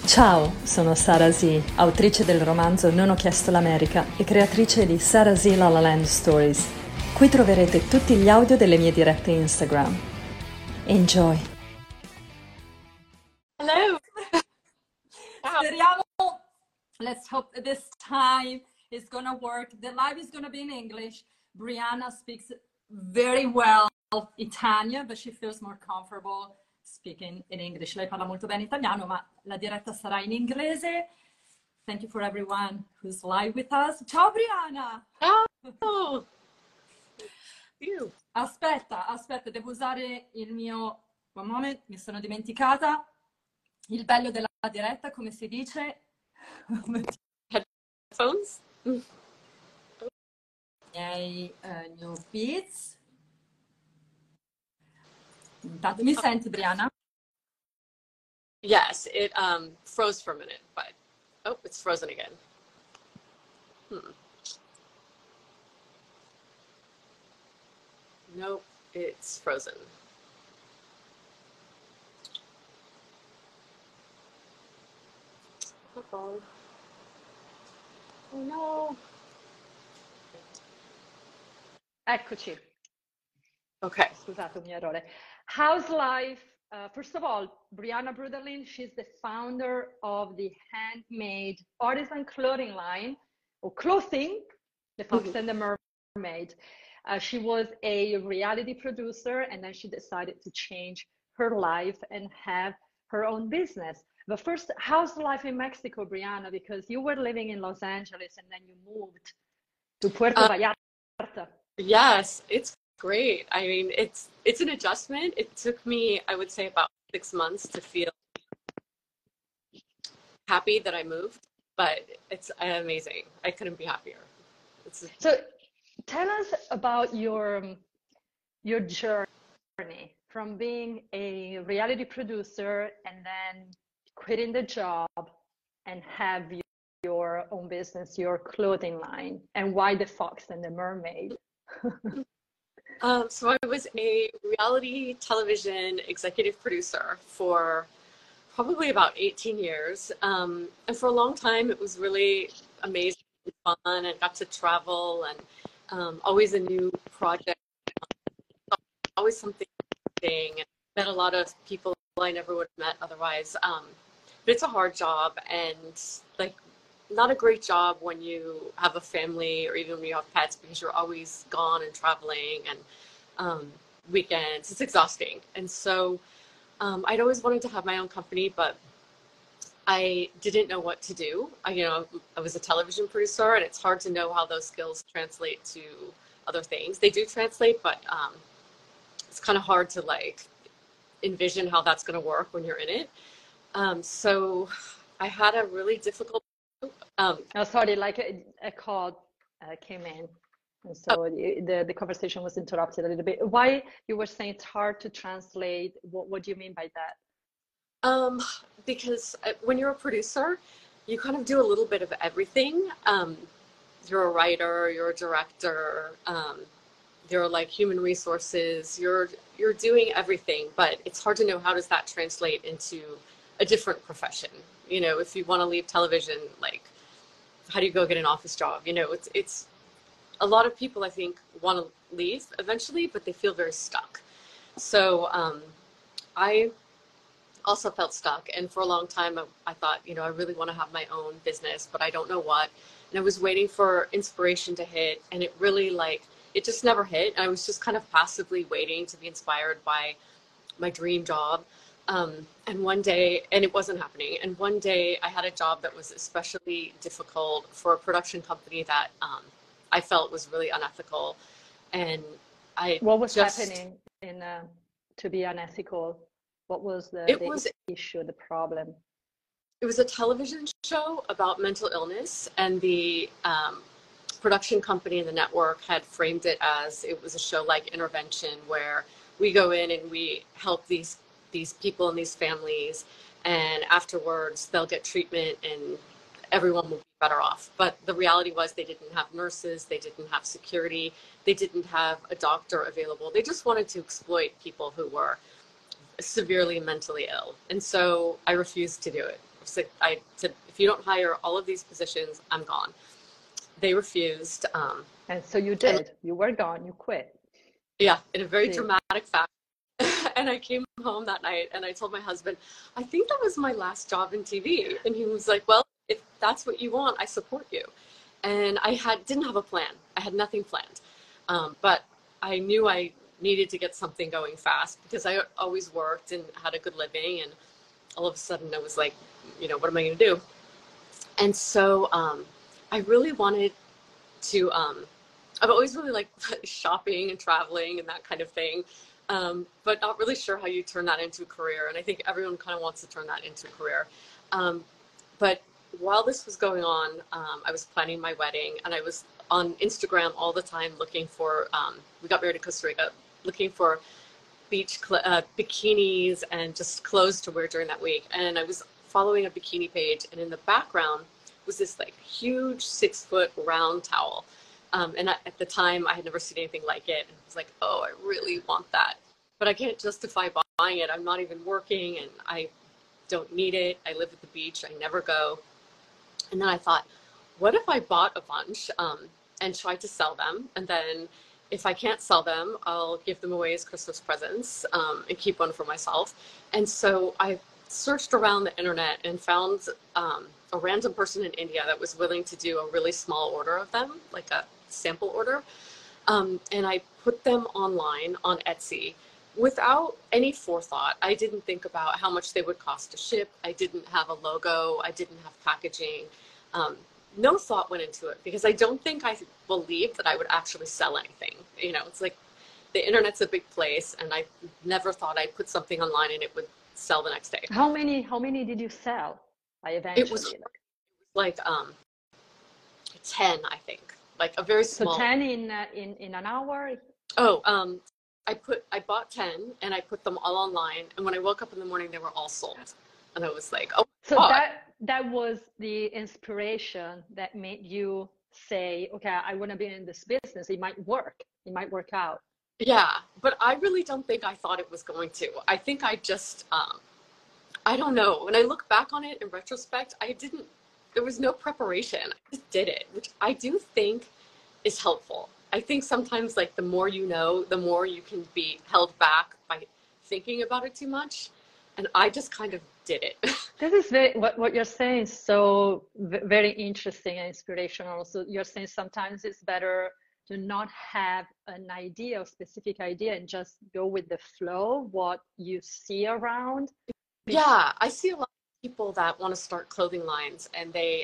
Ciao, sono Sara Z, autrice del romanzo Non ho chiesto l'America e creatrice di Sara Z La La Land Stories. Qui troverete tutti gli audio delle mie dirette Instagram. Enjoy! Hello. Wow. Speriamo. Let's hope this time is gonna work. The live is gonna be in English. Brianna speaks very well Italian, but she feels more comfortable speaking in English. Lei parla molto bene italiano, ma la diretta sarà in inglese. Thank you for everyone who's live with us. Ciao Brianna! Oh, you. Aspetta, devo usare il mio... One moment, mi sono dimenticata. Il bello della diretta, come si dice? Headphones? New beats. Intanto, mi senti, Brianna? Yes, it froze for a minute, but oh, it's frozen again. Nope, it's frozen. Uh-oh. Oh no. Eccoci. Okay. Scusate, un mio errore. How's life? First of all, Brianna Bruderlin, she's the founder of the handmade artisan clothing line, or clothing, The Fox and the Mermaid. She was a reality producer, and then she decided to change her life and have her own business. But first, how's life in Mexico, Brianna? Because you were living in Los Angeles and then you moved to Puerto Vallarta. Yes, it's great. I mean, it's an adjustment. It took me, I would say, about 6 months to feel happy that I moved, but it's amazing. I couldn't be happier. So tell us about your journey from being a reality producer and then quitting the job and have your own business, your clothing line, and why The Fox and the Mermaid? So I was a reality television executive producer for probably about 18 years. And for a long time, it was really amazing and fun, and got to travel, and always a new project, always something interesting, and met a lot of people I never would have met otherwise. But it's a hard job, and like not a great job when you have a family or even when you have pets, because you're always gone and traveling, and weekends. It's exhausting. And so I'd always wanted to have my own company, but I didn't know what to do. I was a television producer, and it's hard to know how those skills translate to other things. They do translate, but it's kind of hard to like envision how that's going to work when you're in it. So I had a really difficult. Sorry, like a call came in, and so the conversation was interrupted a little bit. Why you were saying it's hard to translate? What do you mean by that? Because when you're a producer, you kind of do a little bit of everything. You're a writer, you're a director, you're like human resources, you're doing everything, but it's hard to know how does that translate into a different profession. If you want to leave television, like how do you go get an office job? It's a lot of people I think want to leave eventually, but they feel very stuck. So I also felt stuck, and for a long time I thought, I really want to have my own business, but I don't know what. And I was waiting for inspiration to hit, and it really it just never hit. I was just kind of passively waiting to be inspired by my dream job. And one day, and it wasn't happening. And one day I had a job that was especially difficult for a production company that I felt was really unethical. And what was happening to be unethical? What was the issue, the problem? It was a television show about mental illness, and the production company and the network had framed it as it was a show like Intervention, where we go in and we help these people and these families, and afterwards they'll get treatment and everyone will be better off. But the reality was they didn't have nurses, they didn't have security, they didn't have a doctor available. They just wanted to exploit people who were severely mentally ill. And so I refused to do it. I said, if you don't hire all of these positions, I'm gone. They refused. And so you did. You were gone. You quit. Yeah, in a very See. dramatic fashion. And I came home that night and I told my husband, I think that was my last job in TV. And he was like, well, if that's what you want, I support you. And I didn't have a plan. I had nothing planned. But I knew I needed to get something going fast because I always worked and had a good living. And all of a sudden I was like, what am I going to do? And so I really wanted to, I've always really liked shopping and traveling and that kind of thing. But not really sure how you turn that into a career. And I think everyone kind of wants to turn that into a career. But while this was going on, I was planning my wedding and I was on Instagram all the time looking for, we got married in Costa Rica, looking for beach bikinis and just clothes to wear during that week. And I was following a bikini page and in the background was this like huge 6-foot round towel. And at the time I had never seen anything like it. And I was like, oh, I really want that, but I can't justify buying it. I'm not even working and I don't need it. I live at the beach. I never go. And then I thought, what if I bought a bunch and tried to sell them? And then if I can't sell them, I'll give them away as Christmas presents and keep one for myself. And so I searched around the internet and found a random person in India that was willing to do a really small order of them, like a sample order. And I put them online on Etsy without any forethought. I didn't think about how much they would cost to ship. I didn't have a logo. I didn't have packaging. No thought went into it because I don't think I believed that I would actually sell anything. It's like the internet's a big place and I never thought I'd put something online and it would sell the next day. How many did you sell? It was like 10, I think, like a very small. So 10 in an hour? Oh, I bought 10 and I put them all online. And when I woke up in the morning, they were all sold. And I was like, oh. So that was the inspiration that made you say, okay, I want to be in this business. It might work. It might work out. Yeah, but I really don't think I thought it was going to. I think I just, I don't know. When I look back on it in retrospect, there was no preparation. I just did it, which I do think is helpful. I think sometimes like the more you know, the more you can be held back by thinking about it too much. And I just kind of did it. This is what you're saying is so very interesting and inspirational. So you're saying sometimes it's better to not have an idea, a specific idea, and just go with the flow, what you see around. Yeah, I see a lot of people that want to start clothing lines and they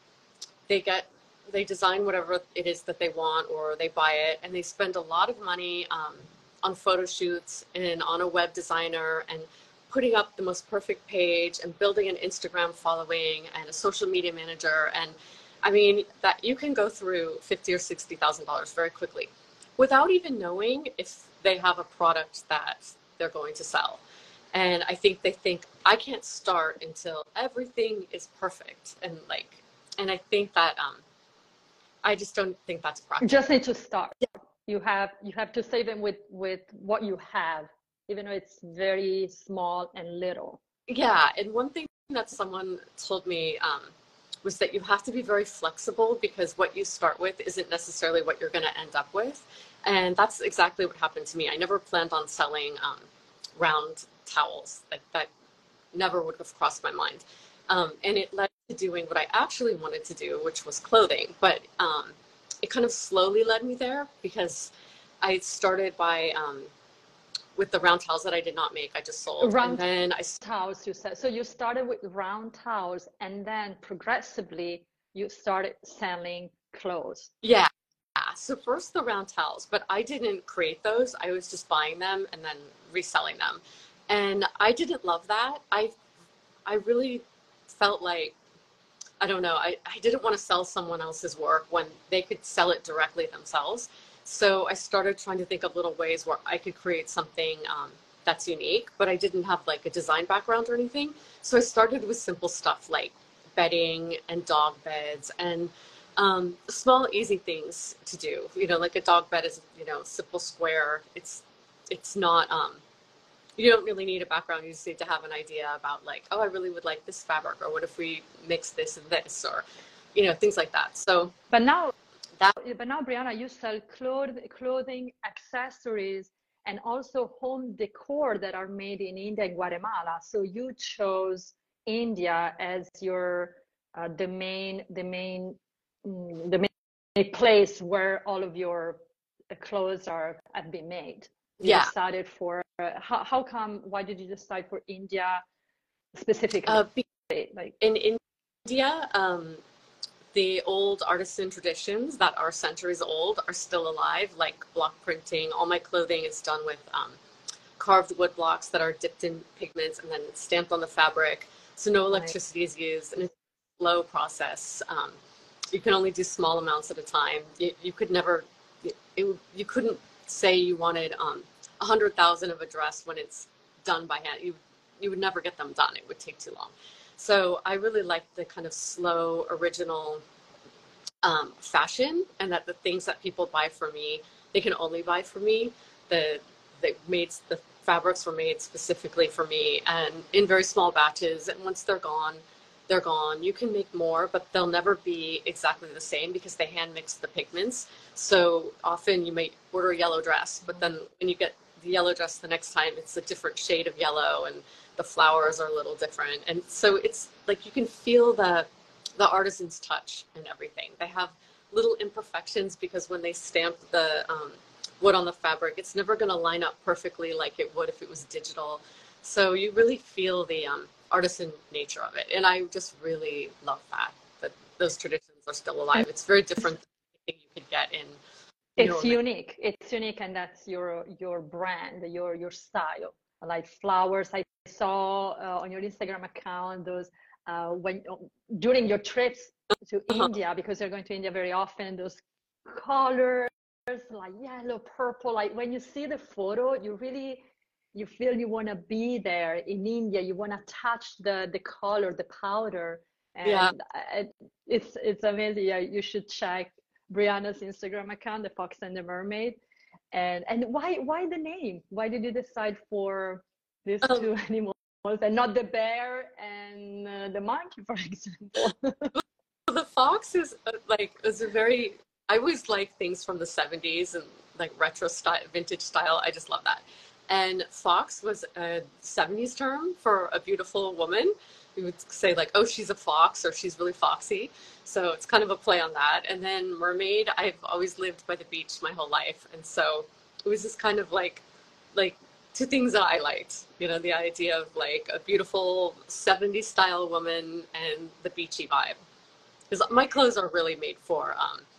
design whatever it is that they want or they buy it and they spend a lot of money on photo shoots and on a web designer and putting up the most perfect page and building an Instagram following and a social media manager. And I mean, that you can go through $50,000 or $60,000 very quickly without even knowing if they have a product that they're going to sell. And I think they think I can't start until everything is perfect. And I think that I just don't think that's practical. You just need to start. Yeah. You have to save them with what you have, even though it's very small and little. Yeah, and one thing that someone told me was that you have to be very flexible because what you start with isn't necessarily what you're going to end up with. And that's exactly what happened to me. I never planned on selling round towels. That never would have crossed my mind. And it led to doing what I actually wanted to do, which was clothing. But it kind of slowly led me there because I started by with the round towels that I did not make, I just sold. Round towels, you said. So you started with round towels and then progressively you started selling clothes. Yeah. So first the round towels, but I didn't create those. I was just buying them and then reselling them. And I didn't love that. I really felt like, I don't know, I didn't want to sell someone else's work when they could sell it directly themselves. So I started trying to think of little ways where I could create something that's unique, but I didn't have like a design background or anything. So I started with simple stuff like bedding and dog beds and small, easy things to do. Like a dog bed is, simple square. It's not you don't really need a background. You just need to have an idea about like, oh, I really would like this fabric, or what if we mix this and this, or, you know, things like that. So But now, that, Brianna, you sell clothing, accessories, and also home decor that are made in India and Guatemala. So you chose India as your the main place where all of your clothes have been made. You yeah. decided for how come? Why did you decide for India specifically? Like in India, the old artisan traditions that are centuries old are still alive, like block printing. All my clothing is done with carved wood blocks that are dipped in pigments and then stamped on the fabric. So no electricity is used, and it's a slow process. You can only do small amounts at a time. You could never, you couldn't say you wanted 100,000 of a dress when it's done by hand. You would never get them done. It would take too long. So I really like the kind of slow, original fashion, and that the things that people buy from me, they can only buy from me. The fabrics were made specifically for me and in very small batches. And once they're gone, they're gone. You can make more, but they'll never be exactly the same because they hand mix the pigments. So often you may order a yellow dress, but then when you get the yellow dress the next time, it's a different shade of yellow and the flowers are a little different. And so it's like you can feel the artisan's touch and everything. They have little imperfections because when they stamp the wood on the fabric, it's never going to line up perfectly like it would if it was digital. So you really feel the artisan nature of it. And I just really love that those traditions are still alive. It's very different than anything you could get in it's unique. It's unique, and that's your brand, your style. Like flowers, I saw on your Instagram account those when during your trips to India, because you're going to India very often, those colors like yellow, purple. Like when you see the photo, you feel you want to be there in India. You want to touch the color, the powder, and yeah. it's amazing. Yeah, you should check Brianna's Instagram account, The Fox and the Mermaid. And why the name? Why did you decide for these two animals and not the bear and the monkey, for example? The fox is is a very, I always like things from the 70s and like retro style, vintage style. I just love that. And fox was a 70s term for a beautiful woman. We would say like, oh, she's a fox, or she's really foxy. So it's kind of a play on that. And then mermaid, I've always lived by the beach my whole life. And so it was just kind of like two things that I liked, you know, the idea of like a beautiful 70s style woman and the beachy vibe. Because my clothes are really made for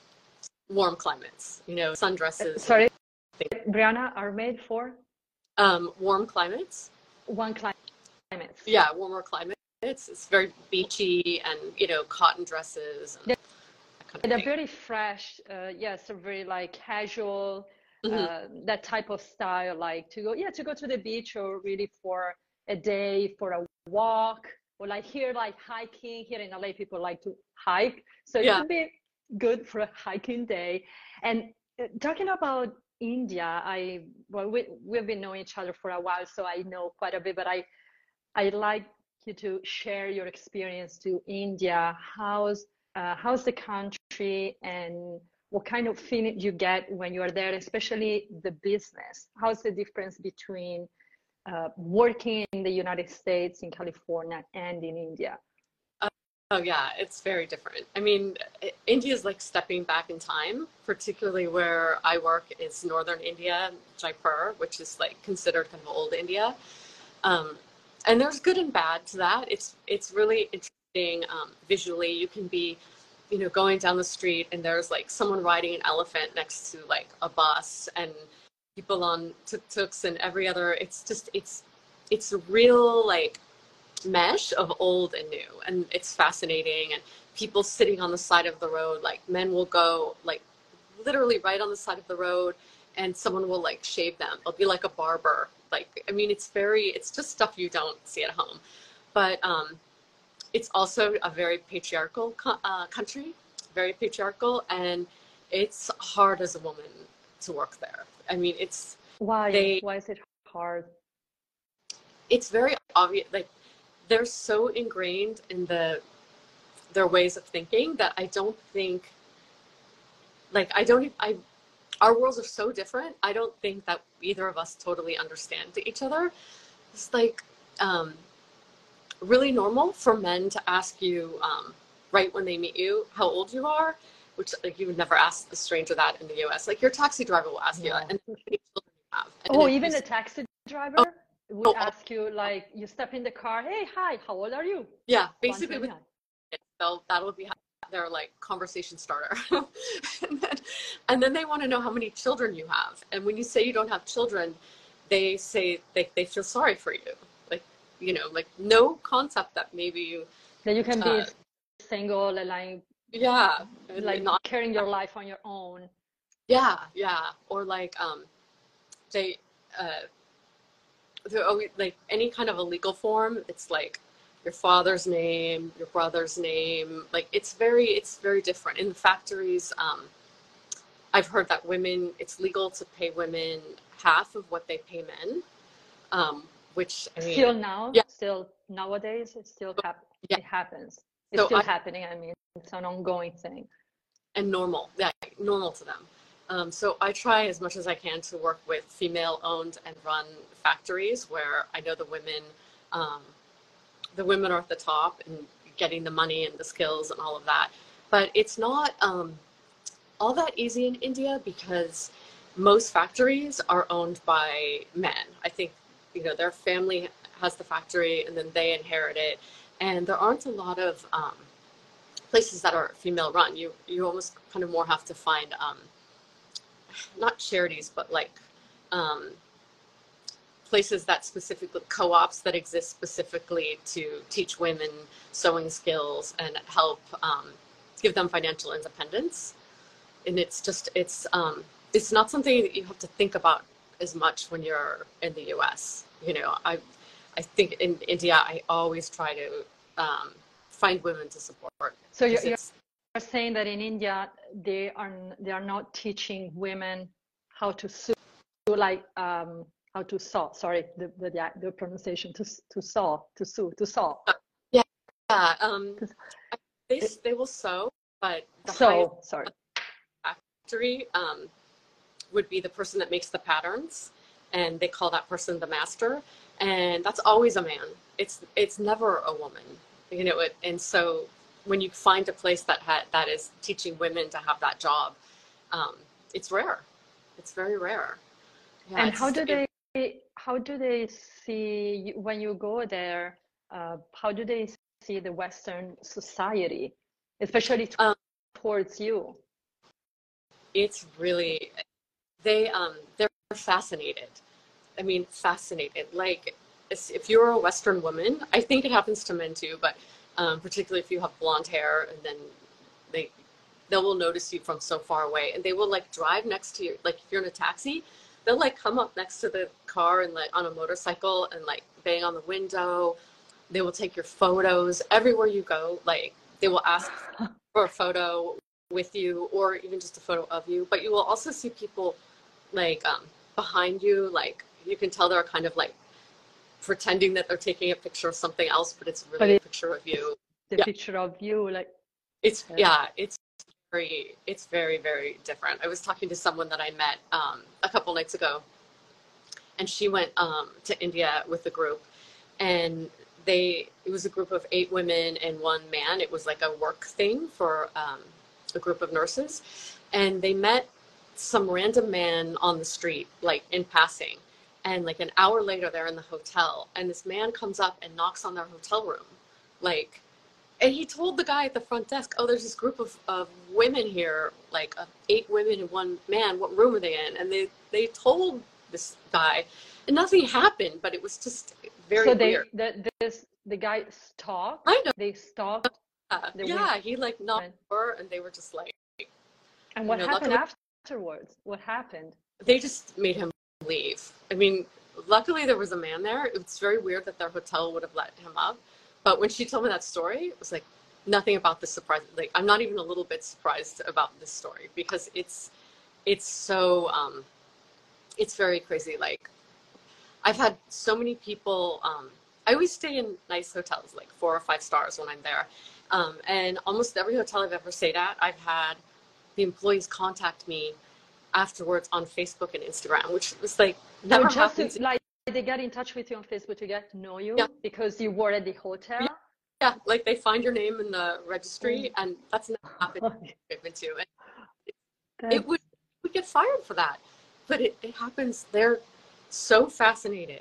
warm climates, you know, sundresses. Sorry, Brianna, are made for? Warm climates. Warm climates. Yeah, warmer climates. It's very beachy, and, you know, cotton dresses. And they're very fresh. Yes, very like casual, that type of style, like to go to the beach, or really for a day, for a walk. Or like here, like hiking. Here in LA, people like to hike, so it could be good for a hiking day. And talking about India, we've been knowing each other for a while, so I know quite a bit. But I like you to share your experience to India. How's the country, and what kind of feeling you get when you are there, especially the business? How's the difference between working in the United States, in California, and in India? Oh yeah, it's very different. I mean, India is like stepping back in time, particularly where I work is northern India, Jaipur, which is like considered kind of old India. And there's good and bad to that. It's really interesting visually. You can be, you know, going down the street and there's like someone riding an elephant next to like a bus, and people on tuk-tuks and every other. It's a real like mesh of old and new, and it's fascinating. And people sitting on the side of the road, like men will go like literally right on the side of the road, and someone will like shave them. It'll be like a barber. Like, I mean, it's just stuff you don't see at home. But it's also a very patriarchal country, very patriarchal, and it's hard as a woman to work there. I mean, it's why is it hard? it's very obvious, like they're so ingrained in their ways of thinking that I don't think, like, our worlds are so different. I don't think that either of us totally understand each other. It's like really normal for men to ask you right when they meet you how old you are, which like you would never ask a stranger that in the US. Like your taxi driver will ask you that, and how many children you have. Oh, even a taxi driver would ask you, like, you step in the car, hey, hi, how old are you? Yeah, basically with that'll be their like conversation starter. and then they want to know how many children you have. And when you say you don't have children, they say they feel sorry for you. Like, you know, like no concept that maybe you that you can be single and like not carrying your life on your own. Yeah, or like they they're always like any kind of a legal form. It's like your father's name, your brother's name. Like it's very different in the factories. I've heard that it's legal to pay women half of what they pay men, which I mean, still nowadays it still it happens. It's so still happening. I mean, it's an ongoing thing. And normal to them. So I try as much as I can to work with female-owned and run factories where I know the women are at the top and getting the money and the skills and all of that. But it's not all that easy in India because most factories are owned by men. I think, you know, their family has the factory and then they inherit it. And there aren't a lot of places that are female run. You almost kind of more have to find not charities, but like places that specifically co-ops that exist specifically to teach women sewing skills and help give them financial independence. And it's not something that you have to think about as much when you're in the US. You know, I think in India I always try to find women to support. So you're saying that in India they are not teaching women how to sew, like how to sew. Sorry, the pronunciation to sew. Yeah. They will sew, but the factory would be the person that makes the patterns, and they call that person the master, and that's always a man. It's never a woman, you know. And so when you find a place that is teaching women to have that job, it's rare. It's very rare. Yeah, and how do they see when you go there? How do they see the Western society, especially towards you? It's really they're fascinated. I mean, fascinated. Like if you're a Western woman, I think it happens to men too, but particularly if you have blonde hair, and then they will notice you from so far away, and they will like drive next to you. Like if you're in a taxi, they'll like come up next to the car and like on a motorcycle and like bang on the window. They will take your photos everywhere you go. Like they will ask for a photo with you or even just a photo of you. But you will also see people like behind you. Like you can tell they're kind of like pretending that they're taking a picture of something else, but it's really a picture of you. The picture of you, like it's very, very different. I was talking to someone that I met a couple nights ago, and she went to India with a group, and it was a group of 8 women and 1 man. It was like a work thing for a group of nurses, and they met some random man on the street, like in passing, and like an hour later they're in the hotel, and this man comes up and knocks on their hotel room, like. And he told the guy at the front desk, oh, there's this group of women here, like 8 women and 1 man. What room are they in? And they told this guy, and nothing happened, but it was just very weird. So the guy stalked? I know. They stalked? Yeah, he like knocked her, and they were just like. And what happened afterwards? What happened? They just made him leave. I mean, luckily there was a man there. It's very weird that their hotel would have let him up. But when she told me that story, it was like nothing about this surprised. Like I'm not even a little bit surprised about this story because it's so it's very crazy. Like I've had so many people, I always stay in nice hotels, like 4 or 5 stars when I'm there. And almost every hotel I've ever stayed at, I've had the employees contact me afterwards on Facebook and Instagram, which was like never just happened. like they get in touch with you on Facebook to get to know you Yeah. because you were at the hotel. Yeah, like they find your name in the registry, and that's never happened to. And it would get fired for that, but it happens. They're so fascinated,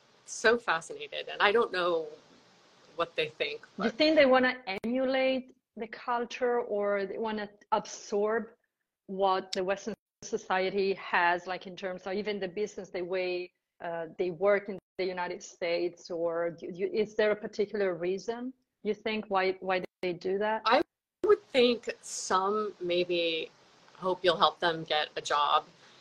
and I don't know what they think. Do you think they want to emulate the culture, or they want to absorb what the Western society has, like in terms of even the business, the way they work in the United States, or is there a particular reason you think why they do that? I would think some maybe hope you'll help them get a job.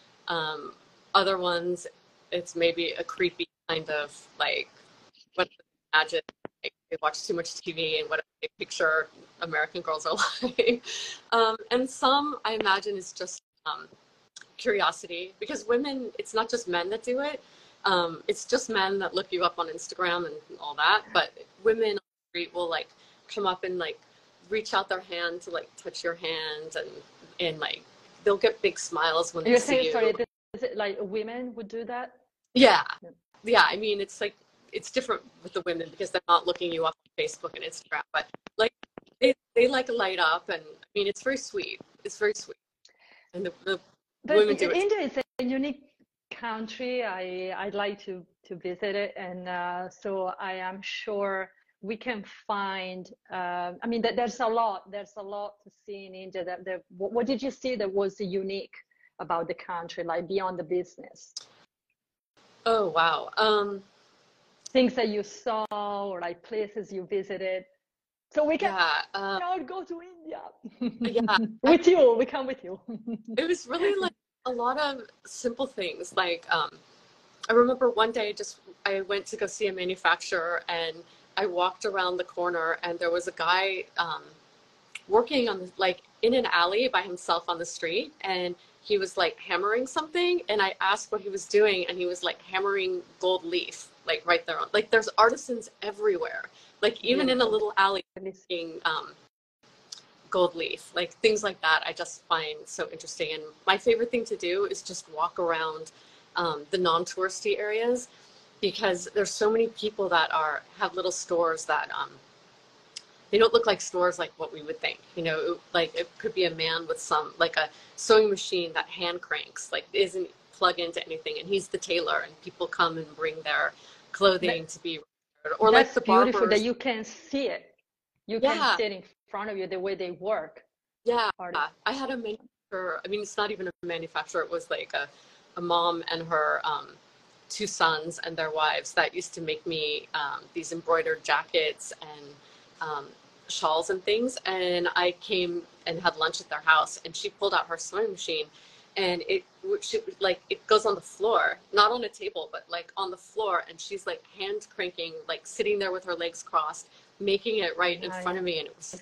Other ones, it's maybe a creepy kind of like what they imagine, like they watch too much TV and what they picture American girls are like. And some I imagine is just curiosity, because women, it's not just men that do it. It's just men that look you up on Instagram and all that, but women on the street will like come up and like reach out their hand to like touch your hand, and like they'll get big smiles when they see you. Sorry, is it like women would do that? Yeah. I mean, it's like it's different with the women because they're not looking you up on Facebook and Instagram, but like they like light up, and I mean it's very sweet. It's very sweet, and the women do it. India is a unique country. I'd like to visit it, and so I am sure we can find. I mean, there's a lot to see in India. What did you see that was unique about the country, like beyond the business? Oh wow! Things that you saw, or like places you visited. So we can go to India. With you, we come with you. It was really like a lot of simple things. Like I remember one day, I went to go see a manufacturer, and I walked around the corner, and there was a guy working on like in an alley by himself on the street, and he was like hammering something, and I asked what he was doing, and he was like hammering gold leaf, like right there. Like there's artisans everywhere, like even in a little alley making gold leaf, like things like that. I just find so interesting. And my favorite thing to do is just walk around the non-touristy areas, because there's so many people that have little stores that they don't look like stores like what we would think. You know, like it could be a man with like a sewing machine that hand cranks, like isn't plugged into anything, and he's the tailor, and people come and bring their clothing to be, or like the barbers. Beautiful that you can see it. You can see it in front of you, the way they work. Yeah, I had a manufacturer. I mean, it's not even a manufacturer. It was like a mom and her 2 sons and their wives that used to make me these embroidered jackets and shawls and things. And I came and had lunch at their house, and she pulled out her sewing machine, and it goes on the floor, not on a table, but like on the floor, and she's like hand cranking, like sitting there with her legs crossed, making it right in front of me. And it was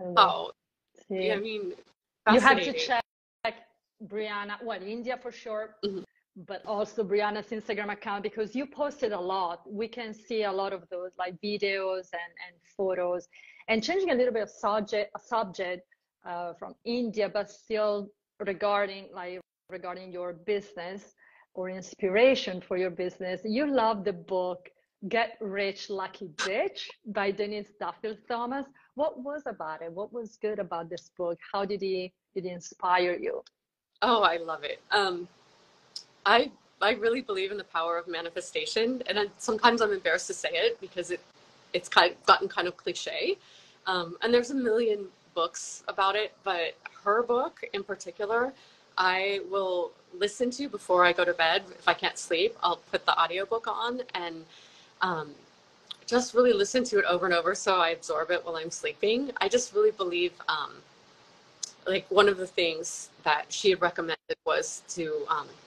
I mean, you have to check Brianna, India for sure, but also Brianna's Instagram account, because you posted a lot. We can see a lot of those like videos and photos. And changing a little bit of subject from India, but still regarding your business or inspiration for your business. You love the book Get Rich Lucky Bitch by Denise Duffield Thomas. What was about it? What was good about this book? How did it inspire you? Oh, I love it. I really believe in the power of manifestation, and sometimes I'm embarrassed to say it because it's gotten kind of cliche. And there's a million books about it, but her book in particular, I will listen to before I go to bed. If I can't sleep, I'll put the audiobook on and just really listen to it over and over so I absorb it while I'm sleeping. I just really believe like one of the things that she had recommended was to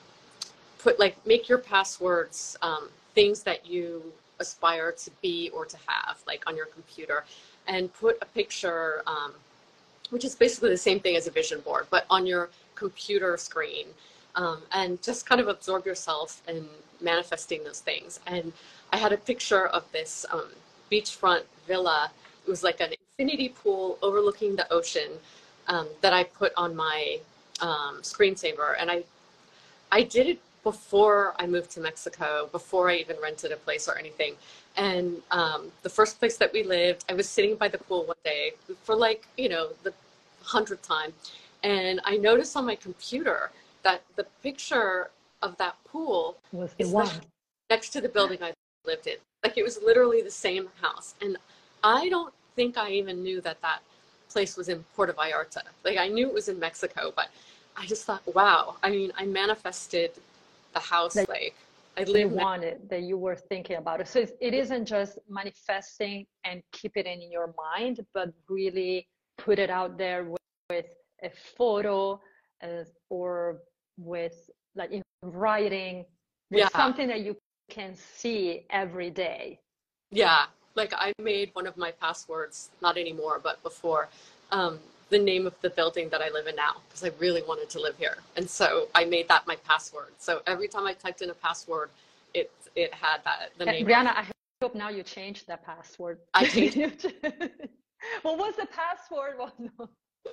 make your passwords things that you aspire to be or to have, like on your computer, and put a picture, which is basically the same thing as a vision board, but on your computer screen, and just kind of absorb yourself in manifesting those things. And I had a picture of this beachfront villa. It was like an infinity pool overlooking the ocean that I put on my screensaver. And I did it before I moved to Mexico, before I even rented a place or anything. And the first place that we lived, I was sitting by the pool one day for like, you know, the 100th time. And I noticed on my computer that the picture of that pool Was the is one next to the building I lived in. Like it was literally the same house. And I don't think I even knew that that place was in Puerto Vallarta. Like I knew it was in Mexico, but I just thought, wow. I mean, I manifested the house. that Like I you lived wanted, that you were thinking about it. So it isn't just manifesting and keep it in your mind, but really put it out there with a photo or with like in writing, with yeah, something that you can see every day. yeah. Like I made one of my passwords, not anymore, but before, the name of the building that I live in now, because I really wanted to live here. And so I made that my password. So every time I typed in a password, it had that, the name Brianna, of, I hope now you changed the password. I changed. What was the password? Well, no,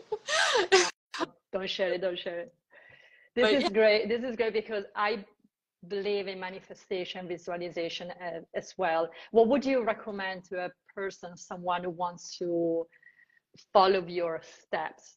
don't share it. Don't share it. This But is yeah, great. This is great because I believe in manifestation, visualization as well. What would you recommend to a person, someone who wants to follow your steps?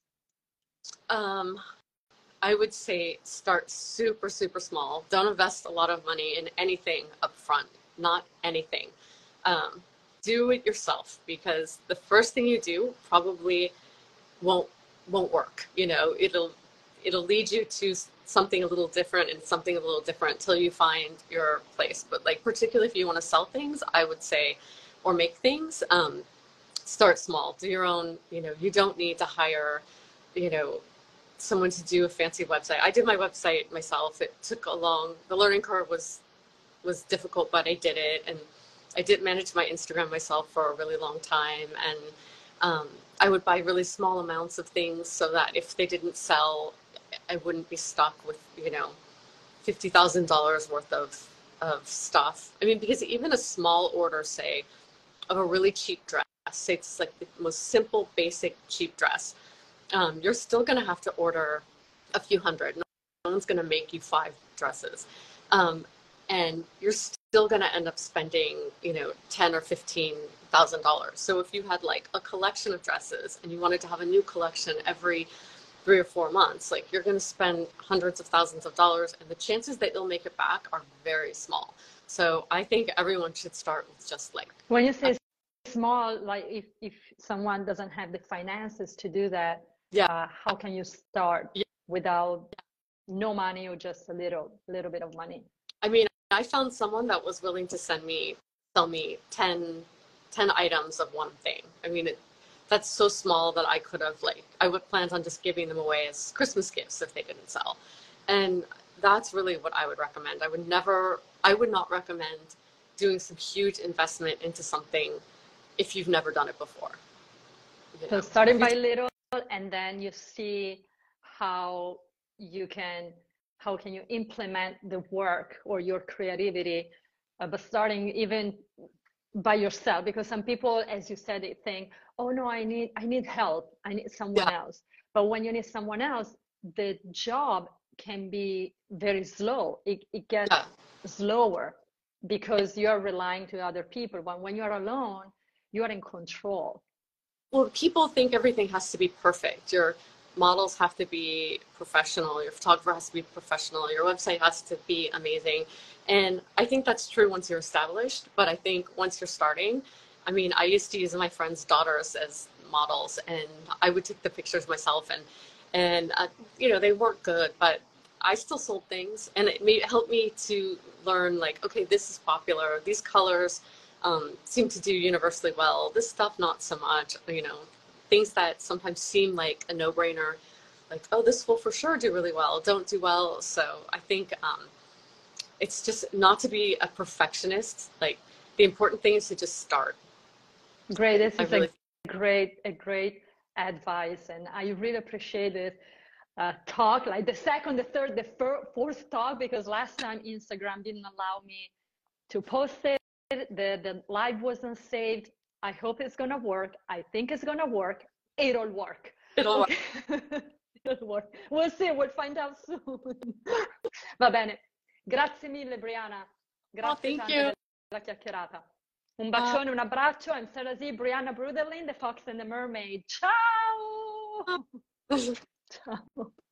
um, I would say start super, super small. Don't invest a lot of money in anything up front, not anything. Um, do it yourself because the first thing you do probably won't won't work. You know, it'll lead you to something a little different and something a little different until you find your place. But like particularly if you want to sell things, I would say, or make things, start small. Do your own. You know, you don't need to hire, you know, someone to do a fancy website. I did my website myself. It took a long. The learning curve was difficult, but I did it, and I did manage my Instagram myself for a really long time. And I would buy really small amounts of things so that if they didn't sell, I wouldn't be stuck with, you know, $50,000 worth of stuff. I mean, because even a small order, say, of a really cheap dress, say it's like the most simple, basic, cheap dress, you're still going to have to order a few hundred. No one's going to make you 5 dresses. And you're still going to end up spending, you know, $10,000 or $15,000. So if you had like a collection of dresses and you wanted to have a new collection every 3 or 4 months, like you're going to spend hundreds of thousands of dollars, and the chances that you'll make it back are very small. So I think everyone should start with just like, When you say small, like if someone doesn't have the finances to do that, yeah, how can you start yeah. without no money or just a little bit of money? I mean, I found someone that was willing to sell me 10 items of one thing. I mean, that's so small that I could have, like, I would plan on just giving them away as Christmas gifts if they didn't sell. And that's really what I would recommend. I would not recommend doing some huge investment into something if you've never done it before. You So know? starting by little, and then you see how can you implement the work or your creativity, but starting even by yourself, because some people, as you said, they think, oh no, I need help, I need someone Yeah, else. But when you need someone else, the job can be very slow. It gets yeah. slower because you're relying to other people. But when you're alone, you are in control. Well, people think everything has to be perfect. Your models have to be professional. Your photographer has to be professional. Your website has to be amazing. And I think that's true once you're established. But I think once you're starting, I mean, I used to use my friends' daughters as models, and I would take the pictures myself, and you know, they weren't good, but I still sold things, and it helped me to learn, like, okay, this is popular. These colors seem to do universally well. This stuff, not so much. You know, things that sometimes seem like a no-brainer, like, oh, this will for sure do really well, don't do well. So I think it's just not to be a perfectionist. Like, the important thing is to just start. Great. This I is really, a great advice, and I really appreciate it. talk, like the second, the third, the fourth talk, because last time Instagram didn't allow me to post it. The live wasn't saved. I hope it's gonna work. I think it's gonna work. It'll work. It'll work. It'll work. We'll see. We'll find out soon. Va bene. Grazie mille, Brianna. Grazie thank tante you. della chiacchierata. Un bacione, un abbraccio. I'm Sarah Z, Brianna Bruderlin, The Fox and the Mermaid. Ciao! Ciao.